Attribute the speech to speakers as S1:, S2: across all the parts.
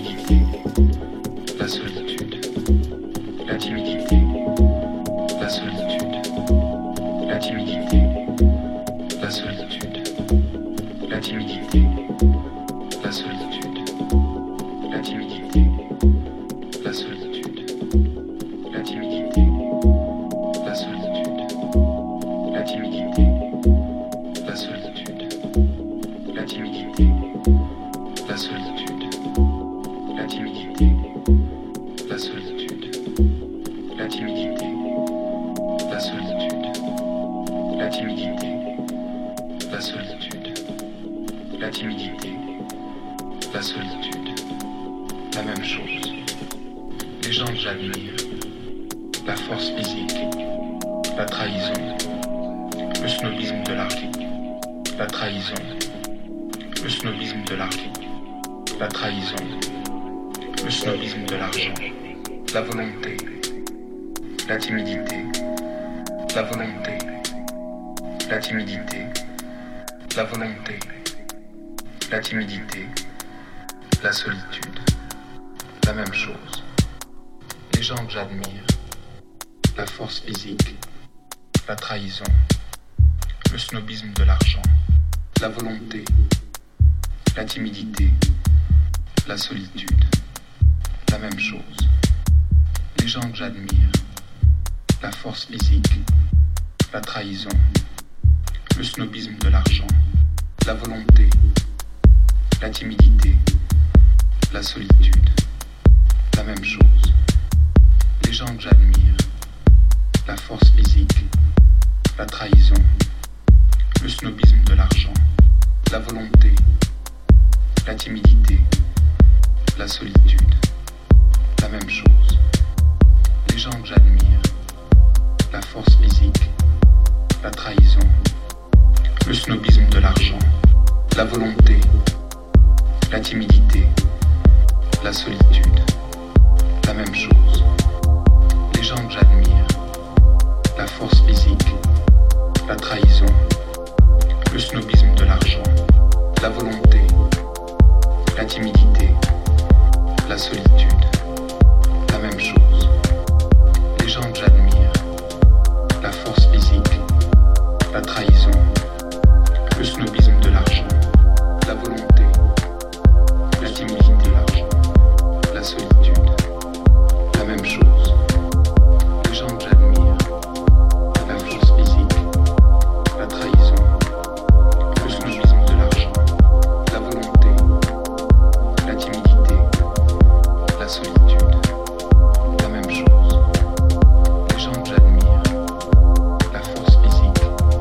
S1: timidité, la solitude, la timidité, la solitude, la timidité, la solitude, la timidité, la solitude, la timidité, la solitude, la timidité, la solitude, la timidité, la solitude, la timidité, la solitude, la timidité, la solitude, la timidité, la solitude, la timidité, la solitude, la timidité, la solitude, la même chose. Les gens que j'admire, la force physique, la trahison, le snobisme de l'argent, la trahison, le snobisme de l'argent, la trahison, le snobisme de l'argent, la volonté, la timidité, la volonté, la timidité, la volonté, la timidité, la solitude, la même chose. Les gens que j'admire, la force physique, la trahison, le snobisme de l'argent, la volonté, la timidité, la solitude, la même chose. Les gens que j'admire, la force physique, la trahison, le snobisme de l'argent, la volonté, la timidité, la solitude, la même chose. Les gens que j'admire, la force physique, la trahison, le snobisme de l'argent, la volonté, la timidité, la solitude, la même chose. Les gens que j'admire, la force physique, la trahison, le snobisme de l'argent, la volonté, la timidité, la solitude, la même chose. Les gens que j'admire, la force physique, la trahison, le snobisme de l'argent, la volonté, la timidité, la solitude, la même chose. Les gens que j'admire, la force physique, la trahison, le snobisme de l'argent, la volonté, la timidité, la solitude, la même chose. Les gens que j'admire, la force physique, la trahison, le snobisme de l'argent, la volonté, la timidité, la solitude, la même chose. Les gens que j'admire, la force physique,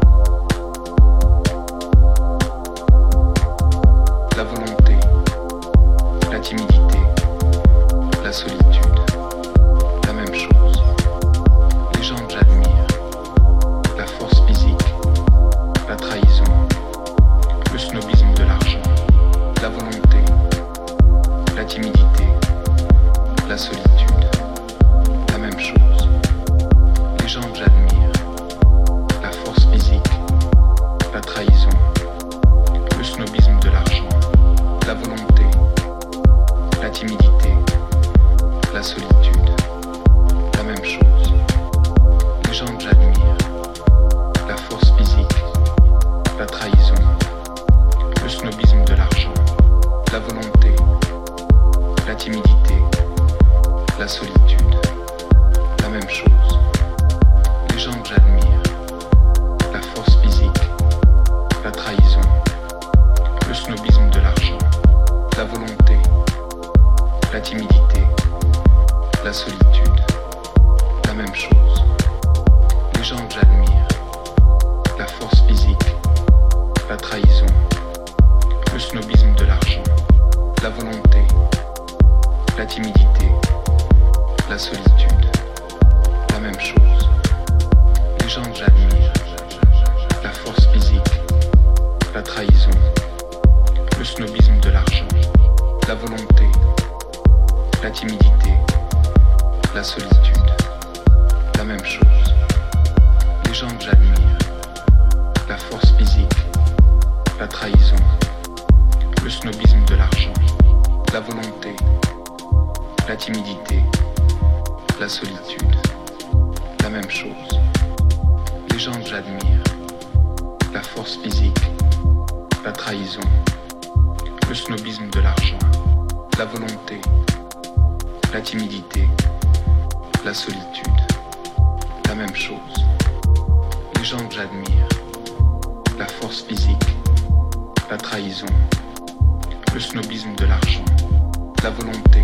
S1: la volonté, la timidité, la solitude, la même chose. Les gens que j'admire, la force physique, la trahison, le snobisme de l'argent, la volonté, la timidité, la solitude, la même chose. Les gens que j'admire, la force physique, la trahison, le snobisme de l'argent, la volonté, la timidité, la solitude, la même chose. Les gens que j'admire, la force physique, la trahison, le snobisme de l'argent, la volonté, la timidité, la solitude, la même chose. Les gens que j'admire, la force physique, la trahison, le snobisme de l'argent, la volonté, la timidité, la solitude, la même chose. Les gens que j'admire, la force physique, la trahison, le snobisme de l'argent, la volonté, la timidité, la solitude, la même chose. Les gens que j'admire, la force physique, la trahison, le snobisme de l'argent, la volonté, la timidité, la solitude, la même chose. Les gens que j'admire, la force physique, la trahison, le snobisme de l'argent, la volonté, la timidité, la solitude, la même chose. Les gens que j'admire, la force physique, la trahison, le snobisme de l'argent, la volonté, la timidité, la solitude, la même chose. Les gens que j'admire, la force physique, la trahison, le snobisme de l'argent, la volonté,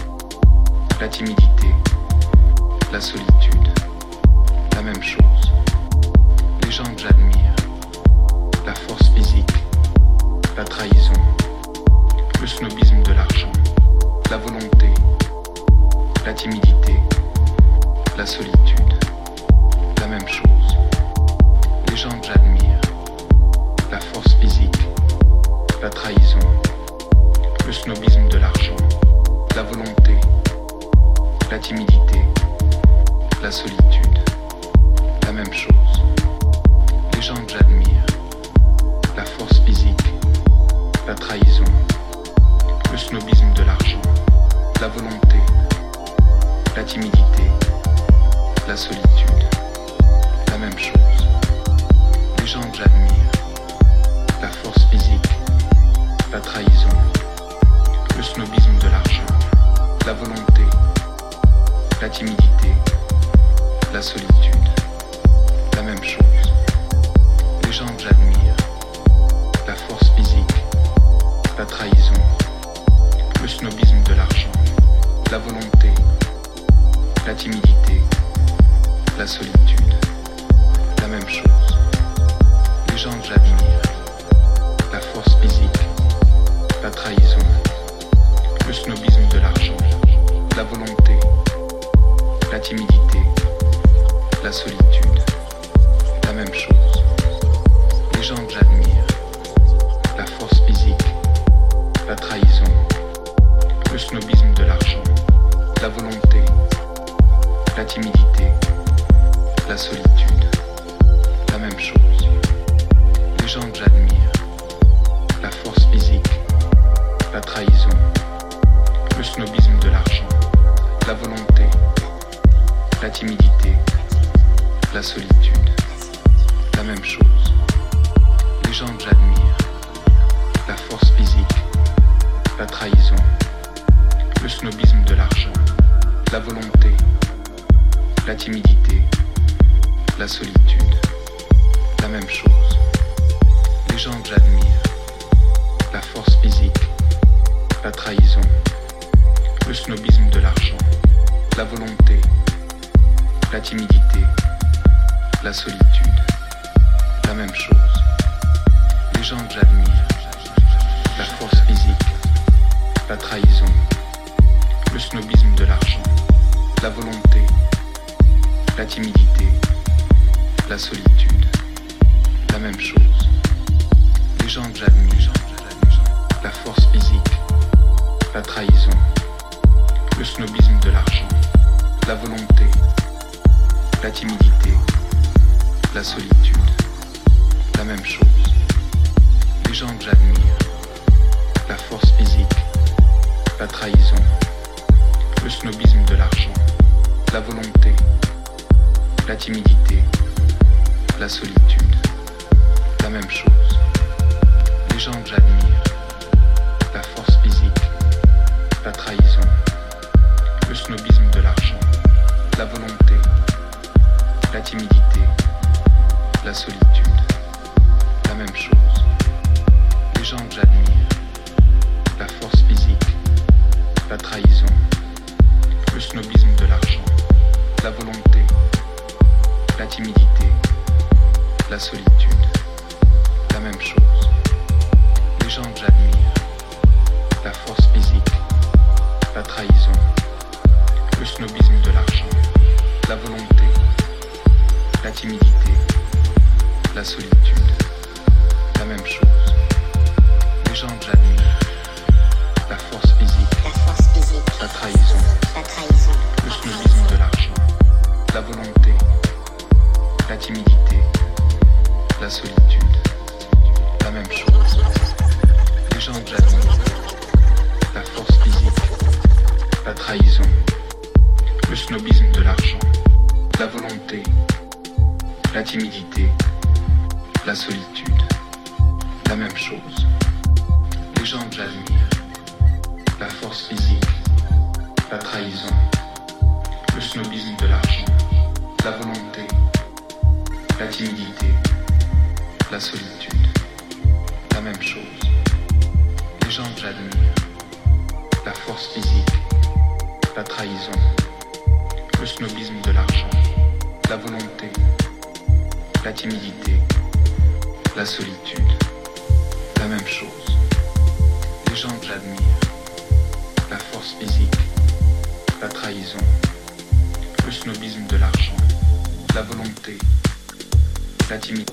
S1: la timidité, la solitude, la même chose. Les gens que j'admire, la force physique, la trahison, le snobisme de l'argent, la volonté, la timidité, la solitude, la même chose. Les gens que j'admire, la force physique, la trahison, le snobisme de l'argent, la volonté, la timidité, la solitude, la même chose. Les gens que j'admire, la force physique, la trahison, le snobisme de l'argent, la volonté, la timidité, la solitude, la même chose. Les gens que j'admire, la force physique, la trahison, le snobisme de l'argent, la volonté, la timidité, la solitude, la même chose. Les gens que j'admire, la force physique, la trahison, le snobisme de l'argent, la volonté, la timidité, la solitude, la même chose. Les gens que j'admire, la force physique, la trahison, le snobisme de l'argent, la volonté, la timidité, la solitude, la même chose. Les gens que j'admire, la force physique, la trahison, le snobisme de l'argent, la volonté, la timidité, la solitude, la même chose. Les gens que j'admire, la force physique, la trahison, le snobisme de l'argent, la volonté, la timidité, la solitude, la même chose. Les gens que j'admire, la force physique, la trahison, le snobisme de l'argent, la volonté, la timidité, la solitude, la même chose. Les gens que j'admire, la force physique, la trahison, le snobisme de l'argent, la volonté, la timidité, la solitude, la même chose. Les gens que j'admire, la force physique, la trahison, le snobisme de l'argent, la volonté, la timidité, la solitude, la même chose. Les gens que j'admire, la force physique, la trahison, le snobisme de l'argent, la volonté, la timidité, la solitude, la même chose. Les gens que j'admire, la force physique, la trahison, le snobisme de l'argent, la volonté, la timidité, la solitude, la même chose. Les gens que j'admire, la force physique, la trahison, le snobisme de l'argent, la volonté, la timidité, la solitude, la même chose. Les gens que j'admire, la force physique, la trahison, le snobisme de l'argent, la volonté, la timidité, la solitude, la même chose. Les gens que j'admire, la force physique, la trahison, le snobisme de l'argent, la volonté, la timidité, la solitude, la même chose. Les gens que j'admire, la force physique, la trahison, le snobisme de l'argent, la volonté, la timidité, la solitude, la même chose. Les gens que j'admire, la force physique, la trahison, le snobisme de l'argent, la volonté, la timidité, la solitude, la même chose. Les gens que j'admire, la force physique, la trahison, le snobisme de l'argent, la volonté, la timidité, la solitude, la même chose. Les gens que j'admire, la force physique, la trahison, le snobisme de l'argent, la volonté, la timidité, la solitude, la même chose. Les gens que j'admire, la force physique, la trahison, le snobisme de l'argent, la volonté, la timidité.